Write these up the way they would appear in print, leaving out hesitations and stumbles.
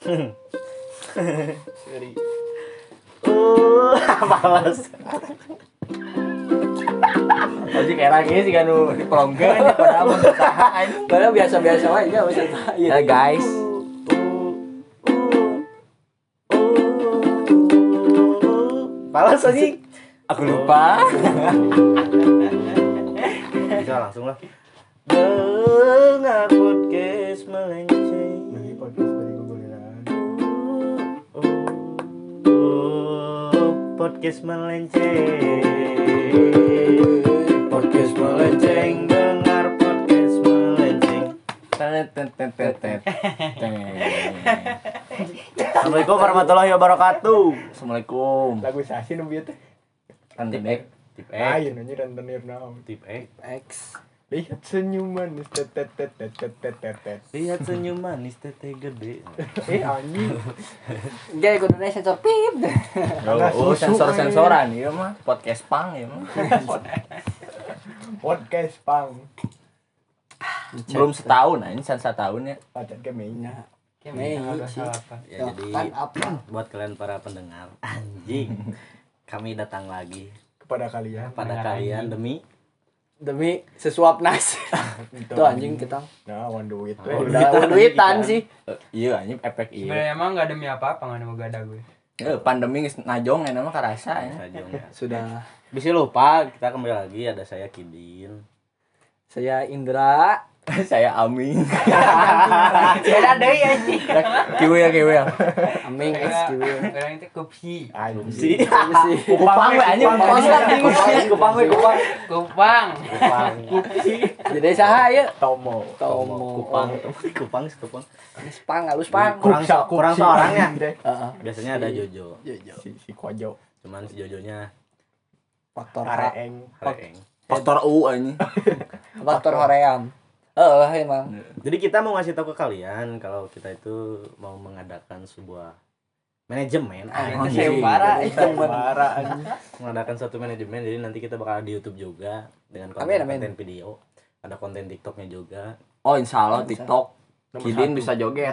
Sorry. Males. Ojek era ge sih kan dipelongkeun padahal mah usahaan. Padahal biasa-biasa wae ya usah. Ya guys. Males anjing. Aku lupa. Bisa langsung lah. Dengar podcast melenceng. Lagi podcast balik gogoleran. Podcast melenceng. Podcast melenceng. Dengar podcast melenceng. Assalamualaikum warahmatullahi wabarakatuh. Assalamualaikum. Lagu sasi nu bieu teh. Kan tip X. Tip Ayo X. nanya rentenir naon. Tip X. X. Lihat senyuman tet tet tet tet tet tet tet tet. Lihat senyum manis teteh gede. Anjing. Jadi kudune sensor pip. Oh, sensor-sensoran ieu mah podcast pang ieu mah. Podcast pang. Belum setahun ini setahun ya. Pacat ke mainnya. Mei sih. Ya jadi Kan apa? buat kalian para pendengar anjing, kami datang lagi Kepada kalian. pada kalian Demi sesuap nasi. Tuh anjing kita. Nah, wan duit. Udah duitan sih. Iya anjing efek iya. Sebenarnya emang nggak demi apa-apa nggak ada gada gue. Pandemi geus najong enak mah karasa ya. saja ya. Sudah. Bisa lupa kita kembali lagi ada saya Kidin. Saya Indra. Saya Aming. Saya deui anjing. Kieu ya. Aming XQ. Orang itu kopi. Si Kupang we anjing kupang we. Kupang. Jadi saha ieu? Tomo. Kupang. Geus pang halus pang. Kurang seorangnya. Heeh. Biasanya ada Jojo. Si Kojo. Cuman si Jojonya Faktor Areeng. Reeng. Faktor U anjing. Faktor hoream. Emang. Jadi kita mau ngasih tahu ke kalian kalau kita itu mau mengadakan sebuah manajemen. Itu sayembara. Sayembara anjing. Mengadakan satu manajemen, jadi nanti kita bakal di YouTube juga dengan Amin. konten video, ada konten TikToknya juga. Oh insyaallah TikTok. Kidin bisa joget.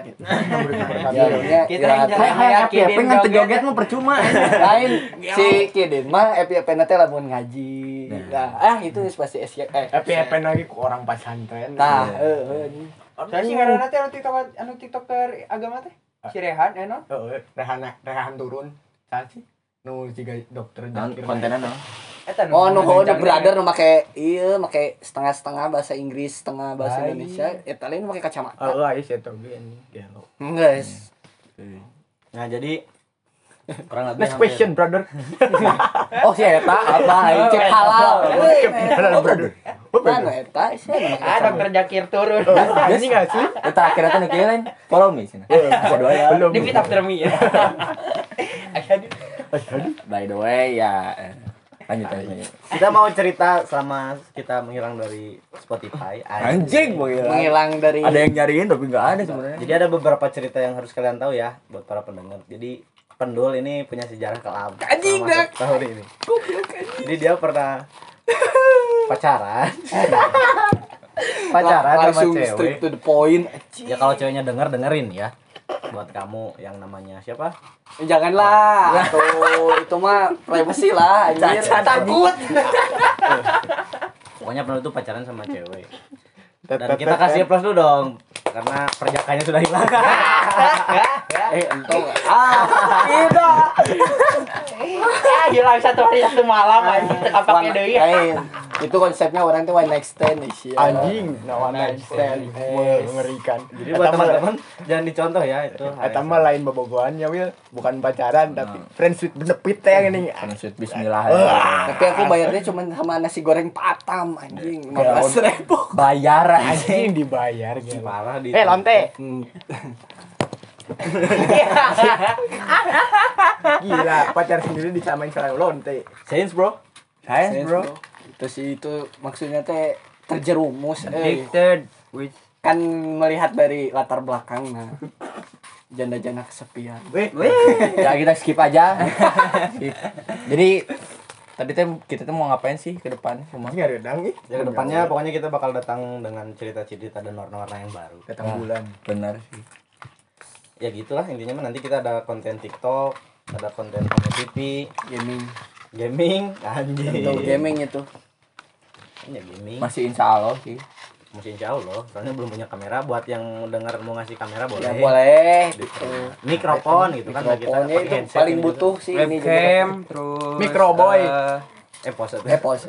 Ya, Kita yang jalan Tapi ngan joget mah percuma. lain si Kidin mah FYP teh lamun ngaji. Nah, itu pasti FYP lagi ku orang pesantren. Tah, Saya sih karena nanti anu TikToker agama teh. Si Rehan enon. Heeh, rehan turun. Sasi. Nu jiga dokter Zakir. Kontenan no. Eta Oh, nu brother nu make setengah-setengah bahasa Inggris, setengah bahasa Indonesia. Eta lain make kacamata. Aya si eta ge anjing. Gelo. Guys. Nah, jadi kurang lebih Next question, brother. Oh, si eta apa? Cek halal. Halal, brother. Mana eta? Si Ah, dokter Zakir turun. Anjing asli. Eta akhirnya teh nu kieu lain. Follow me cenah. Kedua ya. Belum. Di fit after me. By the way ya lanjut. kita mau cerita selama kita menghilang dari Spotify. Anjing menghilang dari ada yang nyariin tapi enggak ada sebenarnya. Jadi ada beberapa cerita yang harus kalian tahu ya buat para pendengar. Jadi Pendul ini punya sejarah kelam. Anjing, selama tahun ini. Jadi dia pernah pacaran sama langsung cewek. straight to the point. Ya kalau ceweknya dengerin ya. Buat kamu yang namanya siapa? Janganlah. Tuh, itu mah privacy lah anjir. Takut. Pokoknya Pendul itu pacaran sama cewek. Dan kita kasih plus dulu dong karena perjakanya sudah hilang. Entong. Tidak. Ya hilang satu hari satu malam anjing teka pake deui. Itu konsepnya orang tuh one night stand sih. Anjing, no one night stand. Mengerikan. Jadi buat teman-teman jangan dicontoh ya itu. Eta mah lain bobogohannya, Wil. Bukan pacaran tapi friends with benefit teh yang ini. Sweet bismillah. Tapi aku bayarnya cuma sama nasi goreng patam anjing 15.000. Bayar Anjing dibayar gitu. Parah di. Lonte. Gila, pacar sendiri disamain sama lonte. Sains, Bro. Science bro. Itu sih itu maksudnya teh terjerumus Addicted with kan melihat dari latar belakang nah janda-janda kesepian. Ya kita skip aja. Skip. Jadi tadi kita mau ngapain sih ke depan rumah? Anjing redang ih. Ya kedepannya pokoknya kita bakal datang dengan cerita-cerita dan warna-warna yang baru. Datang bulan. Benar sih. ya gitulah intinya mah, nanti kita ada konten TikTok, ada konten TV, gaming anjing. Untuk gaming itu. Ya gaming. Masih insya Allah sih. Masih insya Allah, soalnya belum punya kamera. Buat yang dengar mau ngasih kamera boleh. Ya boleh. Gitu. Mikrofon gitu kan, kita Mikrofonnya pakai itu headset paling ini butuh sih ini juga. Webcam terus Microboy. Pose Pause.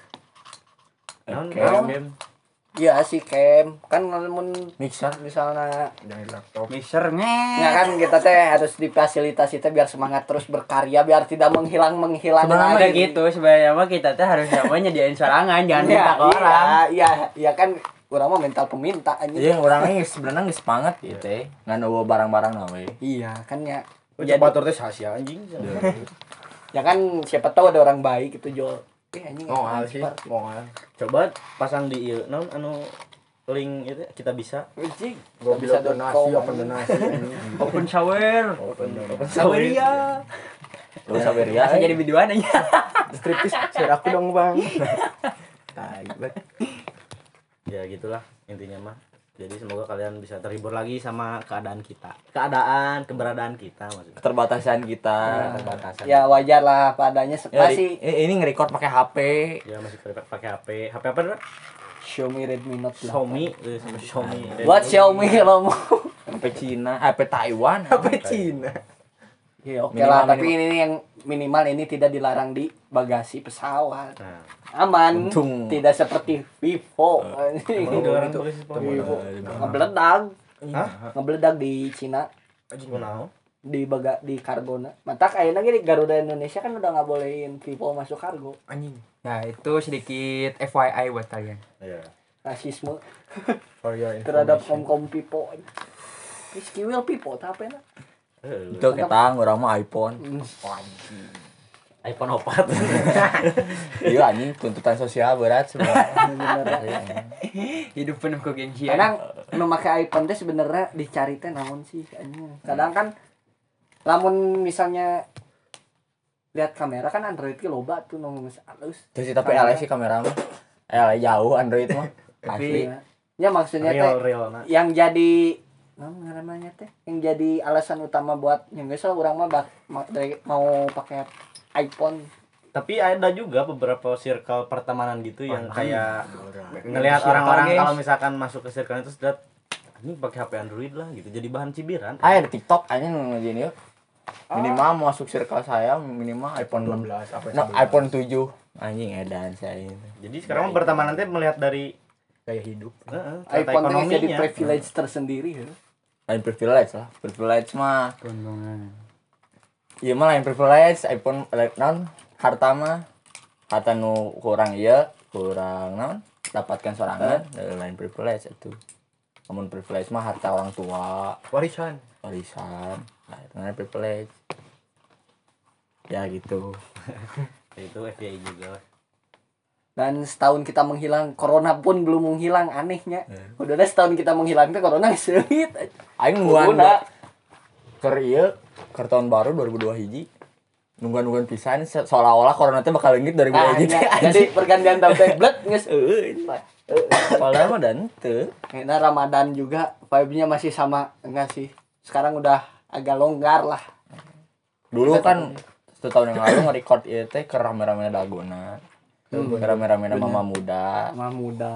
game. Iya sih cam kan namun Mixer. misalnya Dari laptop. mixernya. ya kan kita teh harus difasilitasi teh biar semangat terus berkarya biar tidak menghilang Sebenarnya lagi. gitu sebenarnya mah kita teh harus namanya diain sorangan jangan minta ke orang. Iya kan orang mah mental peminta aja. Iya orangnya sebenarnya nggak semangat gitu ya. Nggak bawa barang-barang nawe. Iya kan ya. Coba tur teh sasia anjing. Ya kan siapa tahu ada orang baik itu jual. Anjing. Mongal sih, mongal. Coba pasang di ieu naon anu link itu kita bisa. Anjing. Gua bisa donasi, open donasi. Open shower. Saweria. Lu sabar ya. Biasa jadi videoan aja. Striptis, share aku dong bang. Tai banget. Ya gitulah intinya mah. Jadi semoga kalian bisa terhibur lagi sama keberadaan kita maksudnya. Keterbatasan kita. Keterbatasan. Ya wajar lah padanya Ya, masih ini nge-record pakai HP. Ya masih pakai HP. HP apa tuh? Xiaomi Redmi Note 8. Xiaomi, sama Xiaomi. Buat Xiaomi kalau mau. HP Cina, HP Taiwan, Apa Cina? Ya oke Minimal, lah, tapi ini yang minimal ini tidak dilarang di bagasi pesawat. Nah, Aman. Untung. Tidak seperti Vivo. ini orang tulis Vivo. Ngebeledag. Hah? Ngebeledag di Cina Kunaon? di kargona. Matak ayeuna ge di Garuda Indonesia kan udah nggak bolehin Vivo masuk kargo. Anjing. Nah, itu sedikit FYI buat kalian. Iya. Rasisme For your terhadap information. kom Vivo. Rizky Will Vivo tapi enak. itu kita orang mah iPhone. iPhone 4. Iya anjing tuntutan sosial berat sebenarnya. Hidup penuh kegengsian. Kadang nu make iPhone teh sebenarnya dicari teh naon sih anjing. Kadang kan lamun misalnya lihat kamera kan Android ge loba tuh nu halus. Terus sih tapi LG sih kamera mah. LG jauh Android mah. Asli. Ya maksudnya teh Real nah. yang jadi namanya teh yang jadi alasan utama buat yang geus urang mah mau pakai iPhone. Tapi ada juga beberapa circle pertemanan gitu yang kayak ngelihat orang-orang kalau misalkan masuk ke circle itu sudah ini pakai HP Android lah gitu. Jadi bahan cibiran. Ada di TikTok anjing ngajin yuk. Minimal mau masuk circle saya minimal iPhone 12 apa No, iPhone 7 anjing edan saya. Jadi sekarang pertemanan teh melihat dari gaya hidup. tata iPhone teh jadi ekonominya. privilege tersendiri ya. Lain privilege lah. Privilege mah. Keuntungan. Iya mah lain privilege iPhone non harta mah harta nu kurang kurang dapatkan sorangan lain privilege itu. Namun privilege mah harta orang tua, Warisan. warisan, nah itu namanya privilege. Ya gitu. Itu FYI juga. Dan setahun kita menghilang, corona pun belum menghilang anehnya. Udah setahun kita menghilang tuh corona sulit. Aing nungguan keur ieu keur tahun baru 2002 hiji. Nungguan pisan seolah-olah corona teh bakal leungit 2002 hiji. Jadi pergantian tahun tablet geus Padahal mah dan teu. Nah Ramadan juga vibe-nya masih sama enggak sih? Sekarang udah agak longgar lah. Dulu kan 1 tahun yang lalu nge-record ieu teh keur rame-rame daguna. Rame-rame mama muda. Mama muda.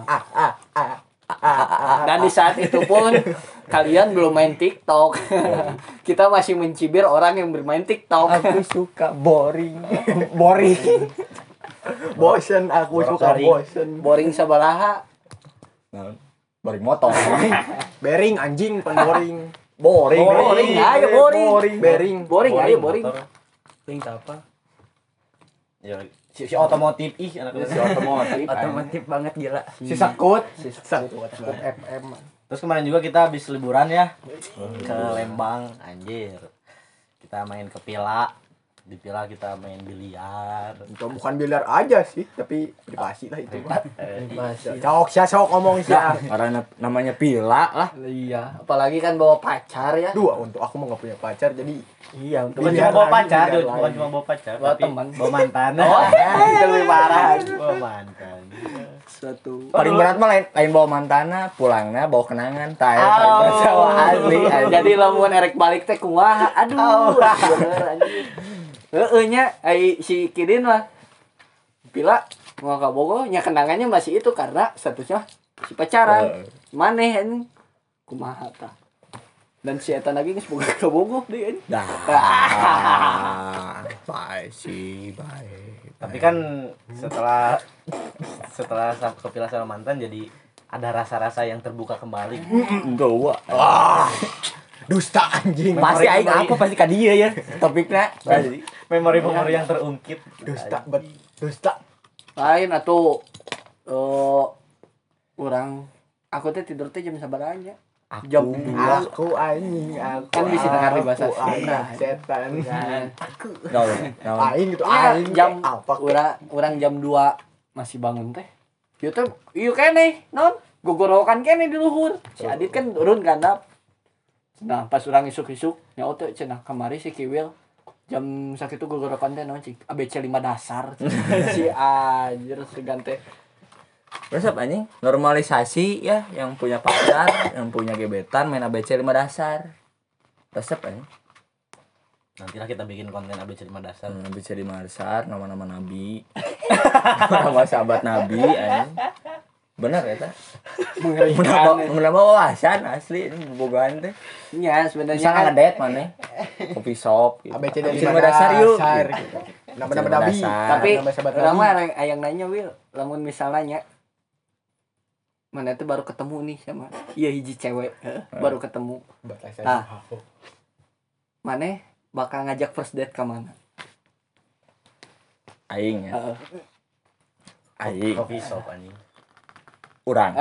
Dan di saat itu pun kalian belum main TikTok. Kita masih mencibir orang yang bermain TikTok. Aku suka boring. Boring. Bosen, aku suka bosen. Boring sabaraha. Nah, boring motor. Bering anjing, bukan boring. Boring. Boring, ayo boring. Bering. Boring, ayo boring. motor. Boring apa? Ya si otomotif anak Si otomotif. Otomotif banget gila. Si sekut. Sekut FM. Terus kemarin juga kita habis liburan ya ke Lembang, anjir. Kita main ke Pila. Di Pila kita main biliar. Itu bukan biliar aja sih, tapi privasi lah itu. Masih. Cok, sok ngomong sih. Karena namanya pila lah. Iya, apalagi kan bawa pacar ya. Dua untuk aku mah gak punya pacar, jadi Iya, untuk Bukan Biliar cuma bawa lagi, pacar, biliar bukan lagi. cuma bawa pacar, Bawa tapi teman. bawa mantan. Oh, itu lebih parah. Bawa mantan. suatu Paling berat mah lain bawa mantana, pulangna bawa kenangan. Tah asli. jadi lamun erek balik teh kumaha aduh bener anjing heueuh nya ai si Kidin mah pila mau ka Bogor nya kenangannya masih itu karena statusnya si pacaran maneh anjing kumaha tah dan si eta lagi geus boga ka Bogor deui anjing Bye sih, bye. Tapi kan setelah kepilih sama mantan jadi ada rasa-rasa yang terbuka kembali. Enggak. Dusta anjing. Pasti aing apa pasti ka dieu ya. Topikna. Memori-memori yang terungkit. Dusta. lain atuh orang aku teh tidur teh jam sabaranya jam 2 Aku anjing, aku. Kan bisa dengar di bahasa aku, Sunda. Setan. Naon? Aing gitu ya, aing jam apa orang jam 2 masih bangun teh ieu teh ieu keneh non gogorokan keneh di luhur si Adit kan turun gandap nah pas urang isuk-isuk nyaho teh cenah kamari si Kiwil jam sakitu gogorokan teh naon cik ABC 5 dasar si anjir segan teh Terus apa anjing? Normalisasi ya yang punya pacar, yang punya gebetan main ABC 5 dasar. Resep anjing. Nantilah kita bikin konten ABC 5 dasar. ABC 5 dasar, nama-nama nabi. Nama sahabat nabi anjing. Bener eta. Menambah wawasan asli ini bobogohan teh. nya sebenarnya Bisa kan ngedate maneh. Kopi shop gitu. ABC ABC 5 5 dasar yuk. Nama-nama nabi. tapi nama sahabat urang nabi. mah ayang nanya Wil lamun misalnya mana tuh baru ketemu nih sama iya hiji cewek baru ketemu Ah. mana bakal ngajak first date ke mana Aing ya. Aing. Coffee shop anjing. Urang.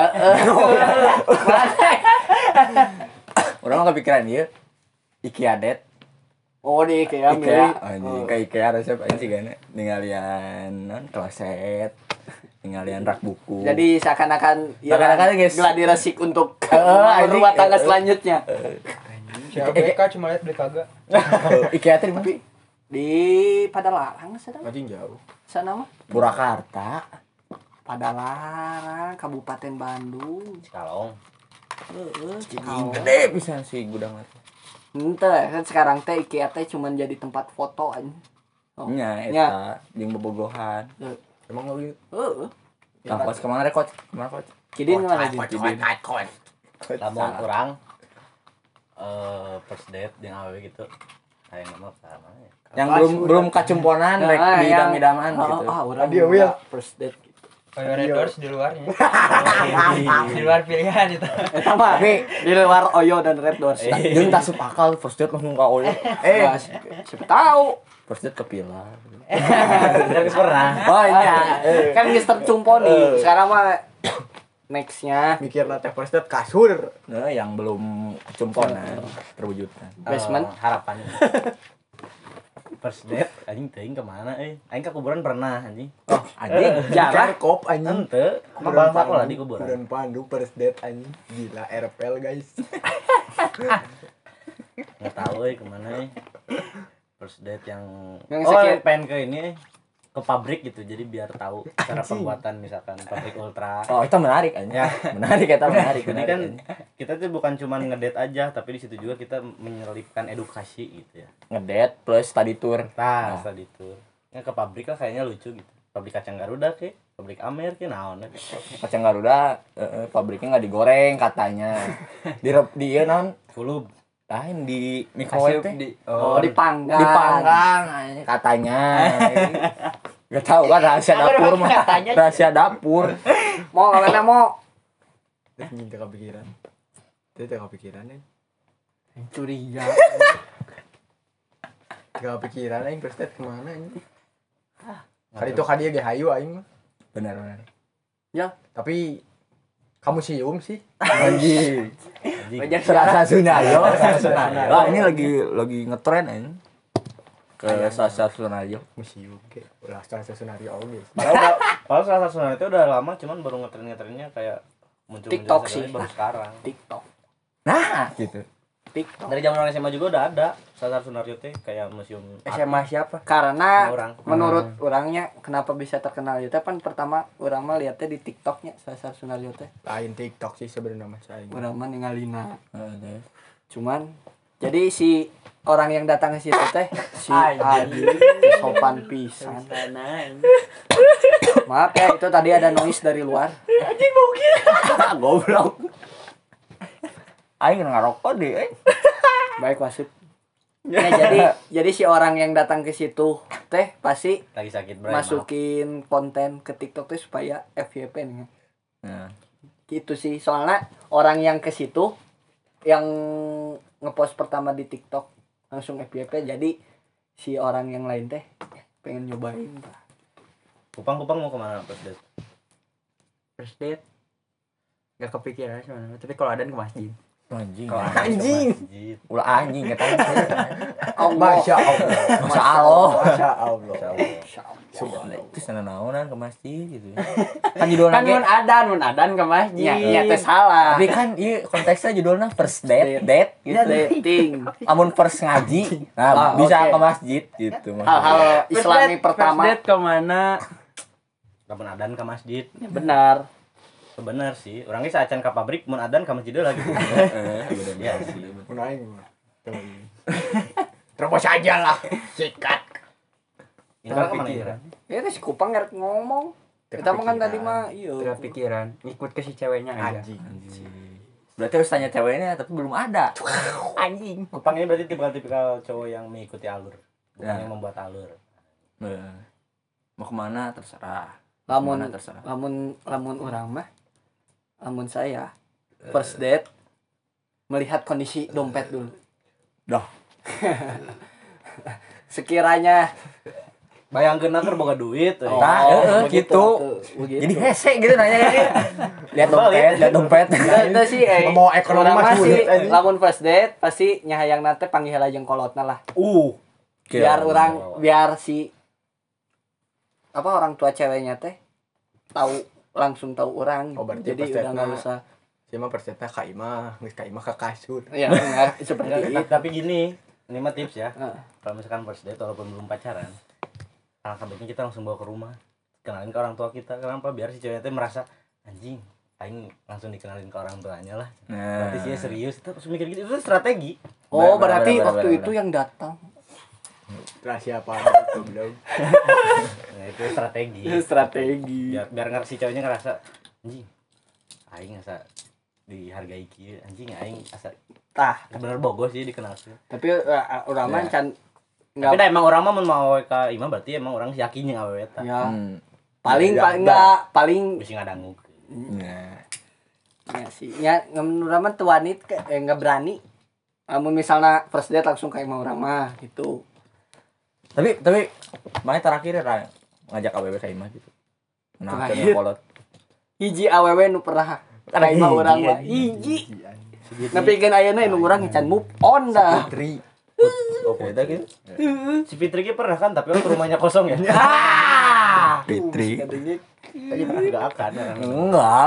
Urang mah kepikiran ieu. IKEA date. oh di IKEA IKEA anjing ka IKEA resep aing sigana ningalian non kloset. Ningalian rak buku. jadi seakan-akan ya Seakan-akan, guys. gladi resik untuk anjing. rumah tangga selanjutnya Siapa BK cuma lihat beli kagak. IKEA teh di mana? di Padalarang sana Anjing jauh. sana mah Purwakarta. Padalarang Kabupaten Bandung Cikalong. Gede pisan si gudang teh. ente kan sekarang teh IKEA teh cuman jadi tempat foto aja Nya nya. eta jeung bobogohan. Emang lu Kampus kemana rek coach? Kemana coach? Kidin mana di Lamun orang first date jeung awewe gitu. Kayak nama sama ya. Yang belum kacumponan rek Nah, di yang- idam-idaman gitu. orang Dia, Will. first date gitu. Red Doors di luarnya. Di luar pilihan itu. Sama di luar Oyo dan Red Doors. Jeung tasup akal first date langsung ka oyo. Nah, siapa tahu. First date ke Pilar. Terus pernah. Oh iya. Kan Mister Cumpo nih. Sekarang mah nextnya mikir nanti first date kasur. Nah, yang belum kacumponan terwujudkan. basement. Harapannya. First date anjing teuing ke mana Aing ke kuburan pernah anjing. Oh, anjing jarah. Kop anjing. Henteu, mah bangsa lah di kuburan. Kuburan Pandu first date anjing. Gila RPL guys. Enggak tahu kemana first date yang Yang oh sekian- pengen ke ini ke pabrik gitu jadi biar tahu cara pembuatan misalkan pabrik ultra. Oh, itu menarik aja. Ya. Menarik eta menarik. Jadi menarik, kan anjing. kita tuh bukan cuma ngedate aja tapi di situ juga kita menyelipkan edukasi gitu ya. ngedate plus study tour. Nah, tadi tuh. Ya ke pabrik lah kayaknya lucu gitu. Pabrik kacang Garuda ke, pabrik Amer ke naon. Kacang Garuda pabriknya nggak digoreng katanya. Di ieu naon? Kulub. Lain di microwave teh. Oh, dipanggang. Dipanggang anjing, katanya. Gak tahu kan rahasia dapur mah. Rahasia dapur. Mau kemana mau? Anjing teu kepikiran. Teu kepikiran nih. Curiga. Teu kepikiran aing first date kemana anjing. Kali itu kadieu ge hayu aing mah. Benar benar. Ya, Tapi kamu sium sih. Anjing. wajar Serasa Sunayo. Wah, ini lagi ngetren anjing. Ke Sasa Sunayo. Museum ke. Ulah salah senario oge. Kalau salah satu itu udah lama cuman baru ngetren-ngetrennya kayak muncul TikTok sih. baru sekarang. TikTok. Nah, gitu. TikTok. Dari zaman orang SMA juga udah ada Sasar Sunaryo teh kayak museum SMA siapa? Karena Sama orang. menurut orangnya kenapa bisa terkenal itu kan pertama orang mah lihatnya di TikToknya Sasar Sunaryo teh. Lain TikTok sih sebenarnya mas saya. Urang mah ningalina. Ada. Cuman jadi si orang yang datang ke situ teh si Adi sopan pisan. Maaf ya itu tadi ada noise dari luar. Goblok. Aing ngarokok deh. Baik wasit. Ya jadi si orang yang datang ke situ teh pasti lagi sakit Bray. masukin konten ke TikTok teh supaya FYP nih. Nah, Gitu sih. Soalnya orang yang ke situ yang ngepost pertama di TikTok langsung FYP jadi si orang yang lain teh pengen nyobain. Kupang mau kemana pas date? First date. Gak kepikiran sebenarnya. Tapi kalau ada ke masjid. anjing. Anjing. Masjid. Ulah anjing kata. Masya Allah. Masya Allah. Masya Allah. Itu sana naonan ke masjid gitu. Kan judulnya Kan mun adan ke masjid. Ya teh salah. tapi kan iya konteksnya judulnya first date gitu. Dating. Amun first ngaji, nah bisa ke masjid gitu. Hal-hal Islami pertama. First date kemana? Kapan adan ke masjid? Ya, benar. Bener sih. Orangnya saacan ke pabrik mun adan ke masjid lagi. Iya sih. Menaik. Terus saja lah. Sikat. Ini kan kemana ya? Ya si Kupang ngerek ngomong. Kita mah kan tadi mah iya. Kepikiran. Ikut ke si ceweknya aja. Anjing. Berarti harus tanya ceweknya tapi belum ada. Anjing. Kupang ini berarti tipikal cowok yang mengikuti alur, bukan Ya. yang membuat alur. Mau kemana terserah. Lamun Kemana terserah. lamun orang mah lamun saya first date melihat kondisi dompet dulu. Dah. Sekiranya Bayangkeun keur boga duit. Nah, begitu, gitu. begitu. Jadi hese gitu nanya dia. Lihat dompet. Itu sih Membawa ekonomi orang mah mah sih sulit, anjing. lamun first date pasti nyahayang nate panggil aja kolotna lah. Biar si apa orang tua ceweknya teh langsung tahu orang. Oh, berarti Jadi first udah date enggak mah usah. Saya mah percaya Kak Ima, geus Kak Ima ke kasur. Ya enggak seperti itu. Tapi gini, ini mah tips ya. Heeh. Kalau misalkan first date walaupun belum pacaran, alangkah baiknya kita langsung bawa ke rumah, kenalin ke orang tua kita. Kenapa? Biar si ceweknya tuh merasa anjing, aing langsung dikenalin ke orang tuanya lah. Berarti sih serius. Kita harus mikir gitu, itu strategi. Oh, Benar, berarti benar, waktu benar, itu yang datang. Rahasia apa itu belum. Nah, itu strategi. Strategi. Biar si ceweknya ngerasa anjing, aing asa dihargai kieu, anjing aing asa Tah, bener bogo sih dikenal sih. tapi orang mah can Tapi dah emang orang mah mun mau awewe ka imah berarti emang orang yakin yang awewe eta. ya Hmm. paling Ya, paling Bisa ngadangu. Nah. ya sih ya menurut orang mah tuh wanita nggak berani. Namun misalnya first date langsung kayak mau orang mah gitu. Tapi mana terakhir ya ngajak AWW ke imah gitu. Nah, Terakhir. coba kolot. Hiji awewe nu pernah Ada kayak mau hiji, orang mah anjing. hiji. Nepikeun ayeuna nu urang can move on dah. Putri. Oh, beda gitu. Si Fitri ki pernah kan tapi waktu rumahnya kosong ya. Fitri. Katanya Tadi enggak akan. Enggak.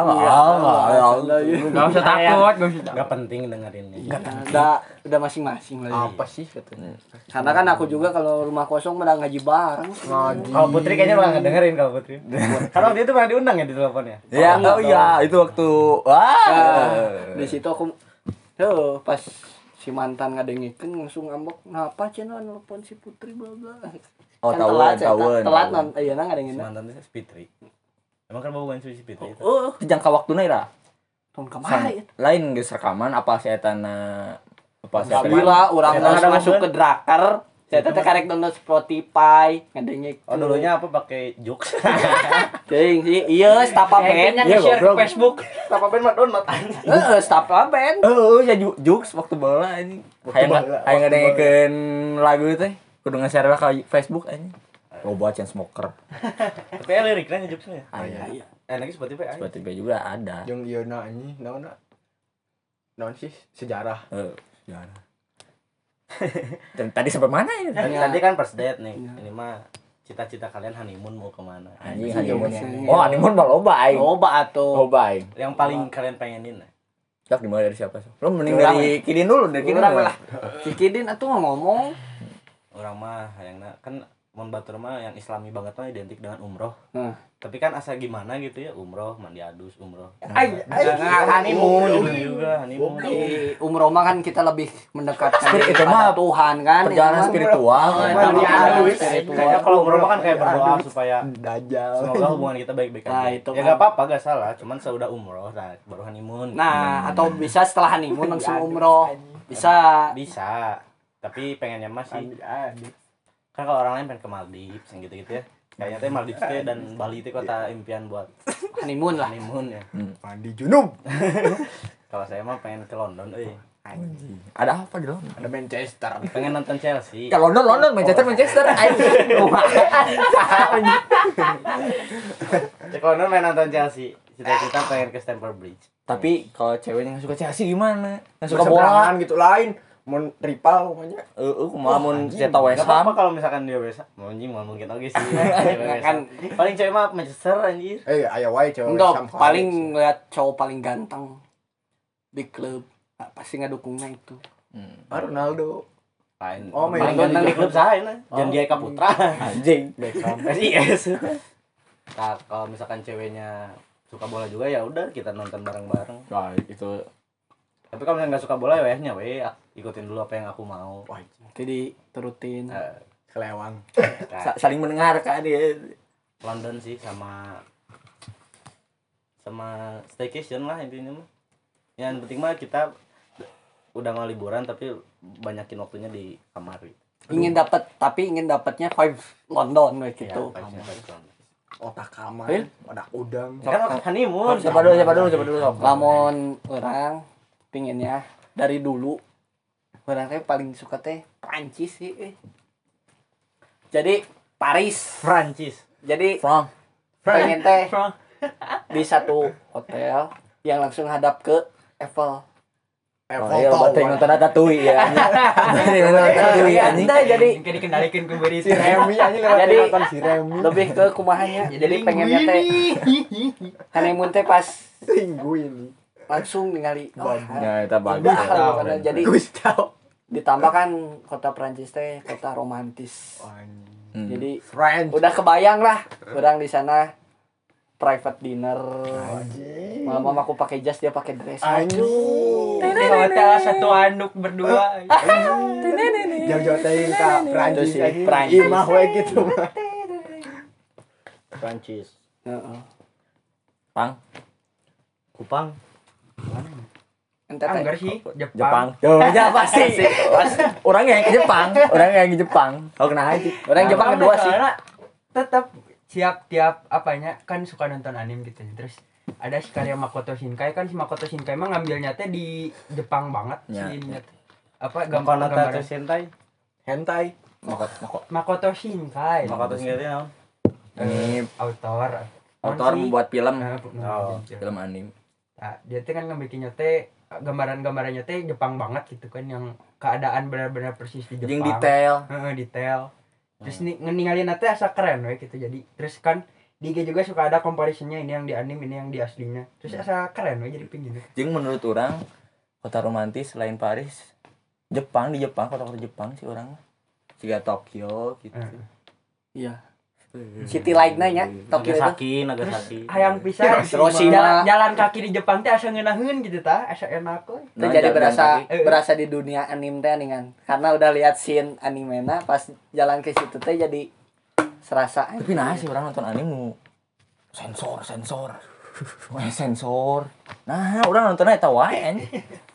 Gak usah takut, gak usah takut. Enggak penting dengerinnya. udah masing-masing lah. Apa sih katanya? Karena kan aku juga kalau rumah kosong udah ngaji bareng. Ngaji. Kalau Putri kayaknya bakal dengerin kalau Putri. Karena dia tuh pernah diundang ya di teleponnya. Ya, oh iya, itu waktu wah. Di situ aku pas si mantan ngadengikeun langsung ngambek. Kenapa cenah nelpon si Putri bla bla. Oh, Kan tahun. telat non ayeuna ngadengeun. Mantannya si Fitri. Emang kan bawa si Fitri itu. Oh, Jangka waktuna ira. tahun kemarin. Lain geus rekaman apa si etana apa si etana? Gila, urang Eta geus ada masuk momen. ke Draker. Saya teh karek download Spotify, ngadengikeun. Oh dulunya apa pakai Jux? Teuing sih, ieu Stapa Band. Kayaknya nge-share ke Facebook. Apa pen mah download aja. Heeh, Stapa Band. Ya Jux waktu bola ini. bola. Hayang ngadengkeun lagu teh kudu nge-share ke Facebook anjing. Loba Chainsmoker. Tapi ya liriknya Juxnya. Aya. Lagi Spotify aja. Spotify juga ada. Yang ieu na anjing, naon sih sejarah. Ya. Dan tadi sampai mana ini? Tadi kan first date nih. Iya. Ini mah cita-cita kalian honeymoon mau kemana? Anjing Iya, honeymoon. iya. Oh, honeymoon mah loba aing. Loba atuh. Loba aing. Yang paling kalian pengenin lah. Cak dimulai dari siapa? Lo mending Orang dari Kidin dulu, dari Kidin Orang lah. lah. Kikidin atuh ngomong. Orang mah hayangna kan mun batur mah yang islami banget mah identik dengan umroh. Nah, Tapi kan asa gimana gitu ya, umroh, mandi adus, umroh. honeymoon. Juga honeymoon. Di umroh mah kan kita lebih mendekatkan Itu diri mah pada Tuhan kan. Perjalanan Itu mah. spiritual. Oh, ya. itu Mandi mah adus. spiritual. Kayaknya kalau umroh mah kan kayak berdoa supaya Dajjal. semoga hubungan kita baik-baik aja. Nah, itu ya kan. enggak apa-apa, enggak salah, cuman seudah umroh nah baru honeymoon. Nah, atau bisa setelah honeymoon langsung umroh. Bisa. Bisa. Tapi pengennya masih Adik. kan kalau orang lain pengen ke Maldives yang gitu-gitu ya. Kayaknya teh Maldives teh dan Bali teh kota impian buat Honeymoon lah. honeymoon ya. Mandi junub. Kalau saya mah pengen ke London, Ada apa di London? Ada Manchester. pengen nonton Chelsea. Ya London, Manchester. Cek London main nonton Chelsea. Cita-cita pengen ke Stamford Bridge. Tapi kalau ceweknya nggak suka Chelsea gimana? Nggak suka Suka bola? gitu lain. Mun rival pokoknya. Kumaha mun cetak West Gak apa-apa Ham. kalau misalkan dia West Ham. Anjing mau mungkin oke sih. Kan paling cewek mah Manchester anjir. Aya wae cewek. Untuk paling ngeliat cowok paling ganteng di klub. Nah, pasti ngedukungnya itu. Ronaldo. Lain. Oh, Paling main ganteng di di klub saya nah. Jan Gia Kaputra. Anjing. Beckham. Yes. Nah, kalau misalkan ceweknya suka bola juga ya udah kita nonton bareng-bareng. Wah, itu Tapi kalau misalnya nggak suka bola ya wehnya ikutin dulu apa yang aku mau. Wah, Jadi turutin. kelewang. Nah, saling mendengarkan dia. London sih sama staycation lah intinya mah. Yang penting mah kita udah mau liburan tapi banyakin waktunya di kamar. Ingin dapatnya vibe London kayak gitu. vibes-nya London. Otak kamar. Eh? Otak udang. Kan honeymoon. Siapa dulu sok. Lamun orang pinginnya dari dulu orang teh paling suka teh Prancis sih. Jadi Paris. Prancis. Jadi Frank. pengen teh di satu hotel yang langsung hadap ke Eiffel. Oh iya, baterai nonton Ratatouille ya. Baterai nonton Ratatouille anjing. Anda jadi Mungkin dikendalikan ke beri Si Remy aja lewat Jadi, nonton si Remy. lebih ke kumahanya. Jadi pengennya teh honeymoon teh pas Minggu ini. langsung ningali Ya, itu bagus. udah lah pokoknya. Jadi Gustav. ditambah kan kota Prancis teh kota romantis. Hmm. Jadi French. udah kebayang lah orang di sana private dinner. Malam aku pakai jas dia pakai dress. Anjing. Di hotel satu anduk berdua. Jauh-jauh teh ka Prancis Itu sih, anjing. Prancis. Imah we gitu mah. Prancis. Heeh. Pang. Kupang. Ente teh Anggar sih Jepang. Jepang. Oh, ya pasti. Orangnya yang ke Jepang. Oh, kena aja. orang Jepang kedua sih. Tetap siap tiap apanya kan suka nonton anime gitu. Terus ada si karya Makoto Shinkai kan si Makoto Shinkai mah ngambilnya teh di Jepang banget Ya. sih ininya teh. Apa Gambar gambar Sentai. Hentai. Makoto Shinkai. Maka tuh sendiri naon? Ini autor sih? membuat film. Oh, Film anime. Nah, dia teh kan ngebikinnya teh gambaran-gambarannya teh Jepang banget gitu kan yang keadaan benar-benar persis di Jepang. Yang detail. Detail. Terus ninggalin teh asa keren we gitu. Jadi terus kan di IG juga suka ada comparisonnya ini yang di anime ini yang di aslinya. Terus asa keren we jadi pingin. Jeung menurut orang kota romantis selain Paris, Jepang di Jepang kota-kota Jepang sih orang. Siga Tokyo gitu. Iya. City lainnya nya Tokyo itu. Nagasaki. Hayang pisan Hiroshima. jalan kaki di Jepang teh asa ngeunaheun gitu tah, asa enak we. Itu jadi jalan kaki. berasa di dunia anime teh nih. Karena udah lihat scene animena pas jalan ke situ teh jadi serasa Tapi nah sih orang nonton anime nu sensor. Wah, sensor. Nah, orang nontonnya eta wae anjing.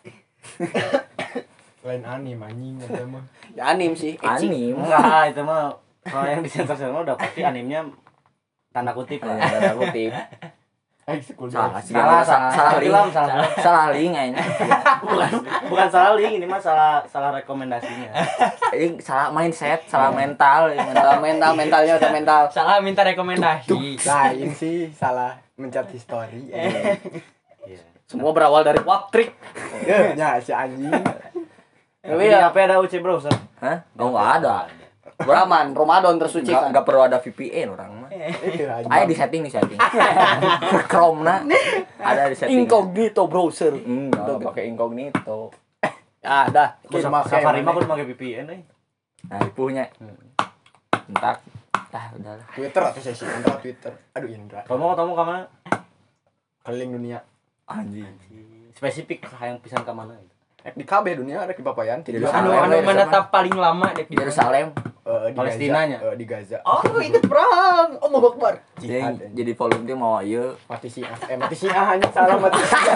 Lain anime anjing eta mah. ya anime sih. ecchi. Anime. Enggak, itu mah kalau yang di sensor udah pasti animenya tanda kutip lah. Tanda kutip. Salah sih. Salah film, salah. Salah link anjing. Bukan salah link, ini mah salah rekomendasinya. Ini salah mindset, salah mental, mentalnya udah mental. Salah minta rekomendasi. Lain sih salah mencet history. Iya. Semua berawal dari Waptrik. Ya si anjing. Tapi di HP ada UC browser. Hah? Oh, enggak ada. Ramadan tersuci kan. Enggak perlu ada VPN orang mah. Ayo di setting nih setting. Chrome na ada di setting. Incognito browser. Enggak pakai incognito. Ah, dah. Safari mah kudu make VPN euy. Nah, punya. Entak. Udahlah. Twitter atau sesi Indra Twitter. Aduh Indra. Kamu ka mana? Keliling dunia. Anjing. Spesifik hayang pisan ka mana? Di KB dunia ada di Papayan. Di Yerusalem. Anu menetap paling lama dek Di Yerusalem. di Palestinanya. Gaza. Di Gaza. Oh, itu perang. Allahu Akbar. Jadi volume dia mau ieu. Mati Syiah. Mati Syiah hanya salah mati Syiah.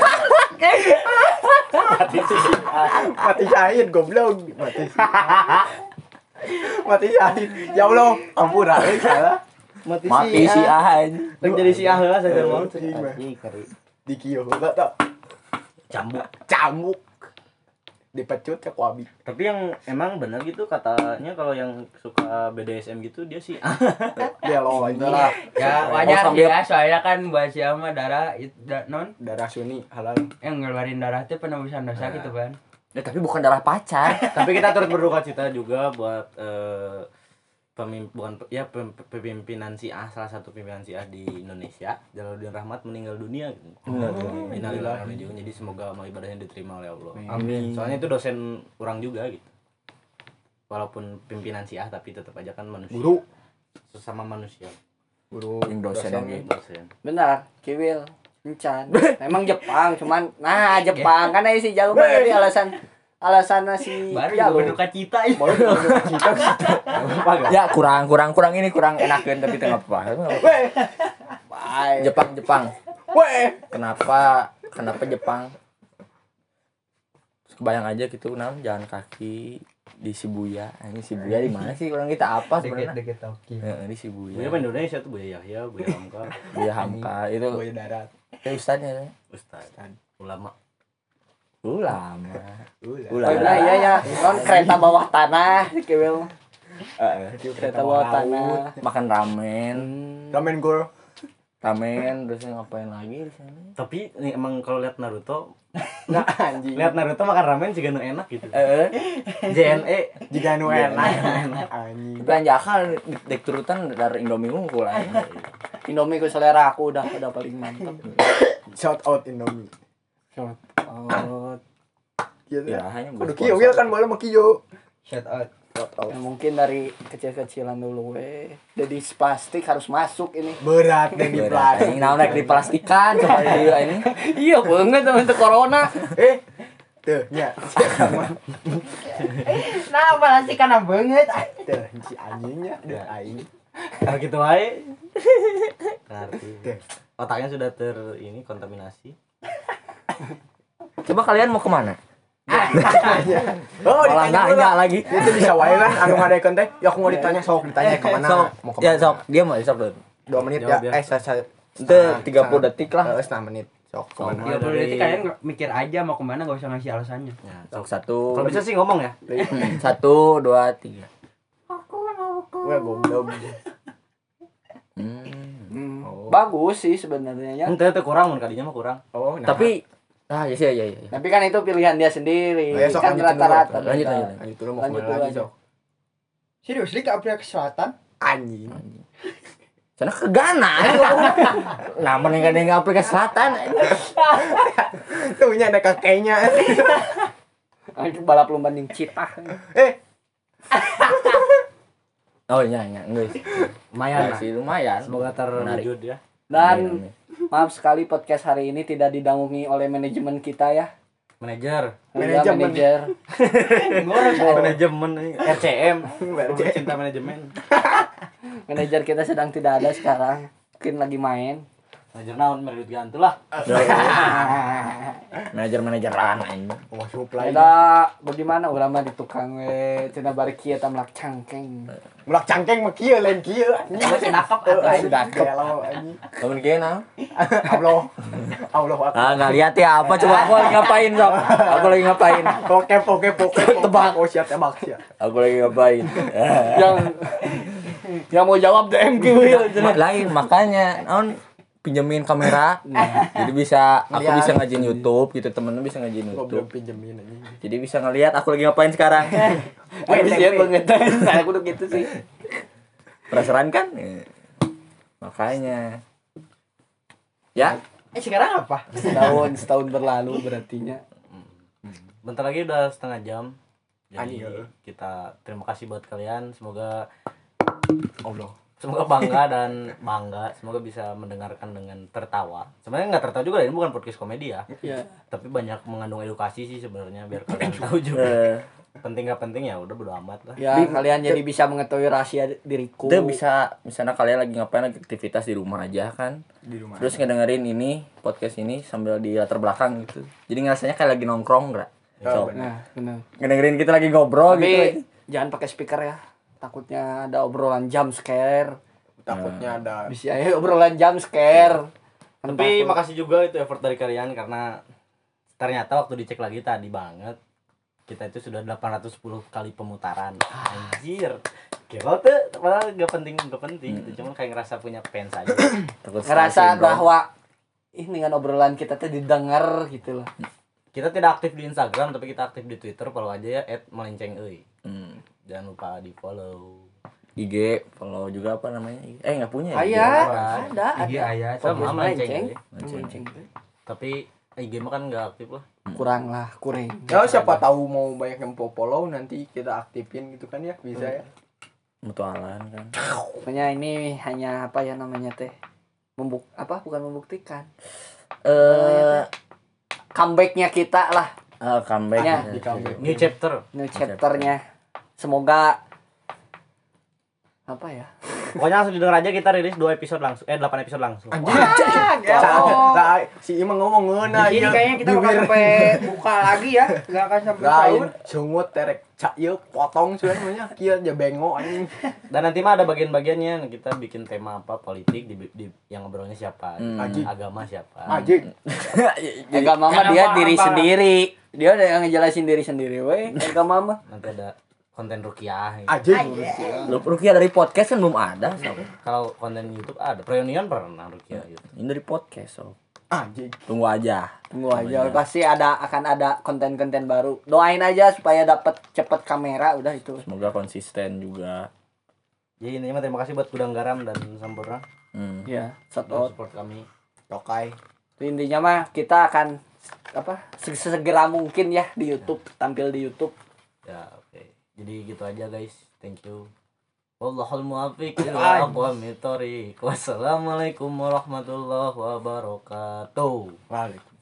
Mati Syiah. Mati syahid goblok. Mati Syiah. Mati syahid. Ya Allah, ampun salah. Mati si ahan. Rek jadi si heula saja mau. Di kieu enggak tak. Cambuk. Dipecut ya kuabi. Tapi yang emang benar gitu katanya kalau yang suka BDSM gitu dia sih Ya lo itulah. Ya wajar sih ya, soalnya kan buat siapa darah non Darah Sunni halal. yang ngeluarin darah itu penembusan dosa gitu kan. Ya, tapi bukan darah pacar. tapi kita turut berduka cita juga buat pemimpinan Syiah, salah satu pimpinan Syiah di Indonesia, Jalaluddin Rahmat meninggal dunia gitu. Innalillahi juga. Jadi semoga amal ibadahnya diterima oleh Allah. Amin. Soalnya itu dosen orang juga gitu. Walaupun pimpinan Syiah tapi tetap aja kan manusia. Guru. Sesama manusia. Guru Yang dosen oge. Dosen. Benar, Kiwil. Encan. Emang Jepang cuman Jepang kan aya si Jalur tadi alasan si Baru Jalur. berduka cita ya. Ya kurang enakeun tapi teu apa-apa. Bye. Jepang. Weh. Kenapa Jepang? Kebayang aja gitu naon jalan kaki di Shibuya. Ini Shibuya di mana sih orang kita apa sebenarnya? Deket Tokyo. Heeh, di Shibuya. Buya Indonesia tuh Buya Yahya, Buya Hamka, Buya Hamka itu Boy darat. ustadznya. Ustaz, ulama. Lama. Oh, nah, iya ya, non kereta bawah tanah, Kiwil. Kereta bawah tanah. Makan ramen. Ramen gor. Ramen terus ngapain lagi di sana? Tapi nih, emang kalau lihat Naruto, Nah anjing. lihat Naruto makan ramen juga nu enak gitu. JNE Jika nu enak. Anjing. Tapi anjakan dek turutan dari Indomie unggul aja. Indomie ku selera aku udah paling mantap. Shout out Indomie. Oh, Gitu. Ya, hanya Kudu kieu wil kan boleh mah kieu. Shout out. ya mungkin dari kecil-kecilan dulu jadi plastik harus masuk ini. Berat dan di plastik. Ini naon di plastikan coba dia ini. Iya banget untuk corona. Tuh, nya. Nah, pasti kana banget. Tuh, si anjingnya, tuh aing. Kalau gitu wae. Ngerti. Tuh. Otaknya sudah kontaminasi. Coba kalian mau kemana? Oh, Malah nanya lagi. Itu bisa wae kan anu ngadekeun teh. Ya aku mau ditanya ditanya ke mana? Sok, Mau ke ya mana? sok, dia mau sok dulu. 2 menit Jawab ya. dia. Itu 30 detik lah. Setengah menit. Sok kemana? Ya berarti kalian mikir aja mau kemana, enggak usah ngasih alasannya. Ya, Sok 1. kalau bisa sih ngomong ya. 1 2 3. Wah, goblok. Bagus sih sebenarnya ya. Ente kurang mun kadinya mah kurang. Oh, nah. Tapi ya. Tapi kan itu pilihan dia sendiri. Oh, ya, sok, Kan lanjutin rata-rata. dulu. Lanjut. Lanjut dulu mau Lanjut kemana dulu lagi, aja. Sok? Serius li ke Afrika Selatan? Anjing. Sana ke Ghana. Nah, mending Afrika Selatan. Tuh nya ada kakeknya. Itu balap lomba ning citah. Oh iya, enggak sih. Lumayan lah. Sih lumayan. Semoga terwujud ya. Dan maaf sekali podcast hari ini tidak didangungi oleh manajemen kita ya. Manajer. Manajer. Manajemen RCM. Cinta manajemen. Manajer kita sedang tidak ada sekarang. Mungkin lagi main. Manajer naon merit gantu lah. Manajer-manajeran anjing. Oh, supply. Kita bagaimana urang mah di tukang we cenah bari kieu eta melak cangkeng. Mulak cangkeng mah kieu lain kieu. Masih nakap atuh. Sudah kalau anjing. Kamu kena? Allah. Allah Akbar. Ah, enggak lihat ya apa coba aku lagi ngapain, Sok? Aku lagi ngapain? Poke. Tebak. Oh, siap tebak siap. Aku lagi ngapain? Yang mau jawab DM Kiwil. Lain makanya naon pinjemin kamera. Jadi aku bisa ngajin YouTube gitu, temen-temen bisa ngajin Goblok YouTube. pinjemin anjing. Jadi bisa ngelihat aku lagi ngapain sekarang. Wih, siap banget. Saya kudu gitu sih. Penasaran kan? Makanya. Ya, Sekarang apa? setahun berlalu berartinya. Bentar lagi udah setengah jam. Jadi Anjir. kita terima kasih buat kalian. Semoga Allah. bangga. Semoga bisa mendengarkan dengan tertawa. Sebenarnya nggak tertawa juga, ini bukan podcast komedi ya. Iya. Tapi banyak mengandung edukasi sih sebenarnya, biar kalian tahu juga. eh Penting nggak penting ya udah bodo amat lah. Ya, kalian jadi bisa mengetahui rahasia diriku. itu bisa misalnya kalian lagi ngapain, lagi aktivitas di rumah aja kan. Di rumah. Terus ngedengerin ini podcast ini sambil di latar belakang gitu. Jadi ngerasanya kayak lagi nongkrong enggak? So, Nah, benar. ngedengerin kita lagi ngobrol Tapi gitu. jangan pakai speaker ya. Takutnya ada obrolan jump scare. Takutnya ada Bisa ya obrolan jump scare. Kan Tapi takut. makasih juga itu effort dari kalian, karena ternyata waktu dicek lagi tadi banget kita itu sudah 810 kali pemutaran. Anjir. Gila tuh, padahal gak penting gitu. Cuman kayak ngerasa punya fans aja. Takut ngerasa syndrome. bahwa ini kan obrolan kita tuh didengar gitu loh. Kita tidak aktif di Instagram, tapi kita aktif di Twitter. Follow aja ya @melencengeuy. Jangan lupa di follow. IG follow juga apa namanya? Nggak punya ya? Aya, Ada. ada. IG aya. Sama Podcast melenceng. Melenceng. Tapi IG mah kan nggak aktif lah. Kurang. ya siapa tahu mau banyak yang follow nanti kita aktifin gitu kan ya, bisa ya. Mutualan kan. Pokoknya ini hanya apa ya namanya teh? Bukan membuktikan. Comebacknya kita lah, Comeback. Ya. Di comeback. New chapter. new chapternya. Semoga apa ya? Pokoknya langsung didengar aja, kita rilis 8 episode langsung. Anjir. Lah si Imang ngomong ngeuna Di sini kayaknya kita bakal sampai buka lagi ya. Enggak akan sampai lain sahur. sungut terek cak ieu potong sebenarnya kieu aja bengok anjing. Dan nanti mah ada bagian-bagiannya, kita bikin tema apa, politik di yang ngobrolnya siapa, Anjing. agama siapa. Anjing. Enggak mama Karena dia apa- diri apa- sendiri. Dia udah yang ngejelasin diri sendiri, weh. Enggak mama. Nanti ada konten rukiah. Anjing. Lu Rukia dari podcast kan belum ada, so. Kalau konten YouTube ada, Reunion pernah rukiah gitu. Ini dari podcast, so. Anjing. Tunggu aja. Tunggu aja, pasti akan ada konten-konten baru. Doain aja supaya dapat cepet kamera, udah itu. Semoga konsisten juga. Jadi intinya mah terima kasih buat Gudang Garam dan Sampurna Ya, shout udah out. support kami. Tokai. Intinya mah kita akan sesegera mungkin ya di YouTube, tampil di YouTube. Ya, oke. Jadi gitu aja guys. Thank you. Wallahul muwaffiq ila aqwamit thoriq. Wassalamualaikum warahmatullahi wabarakatuh. Waalaikumsalam.